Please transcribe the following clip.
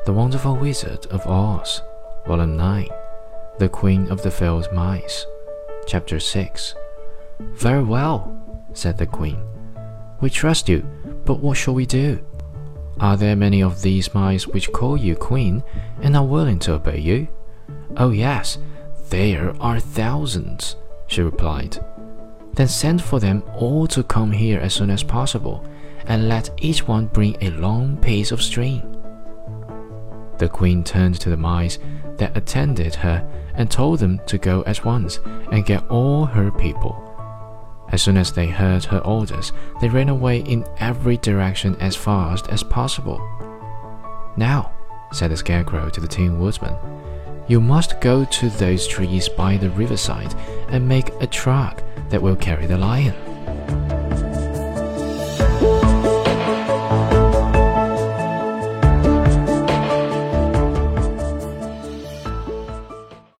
The Wonderful Wizard of Oz, Volume 9, The Queen of the Field Mice, Chapter 6. Very well, said the Queen. We trust you, but what shall we do? Are there many of these mice which call you Queen and are willing to obey you? Oh yes, there are thousands, she replied. Then send for them all to come here as soon as possible, and let each one bring a long piece of string. The Queen turned to the mice that attended her and told them to go at once and get all her people. As soon as they heard her orders, they ran away in every direction as fast as possible. Now, said the Scarecrow to the Tin Woodman, you must go to those trees by the riverside and make a truck that will carry the lion.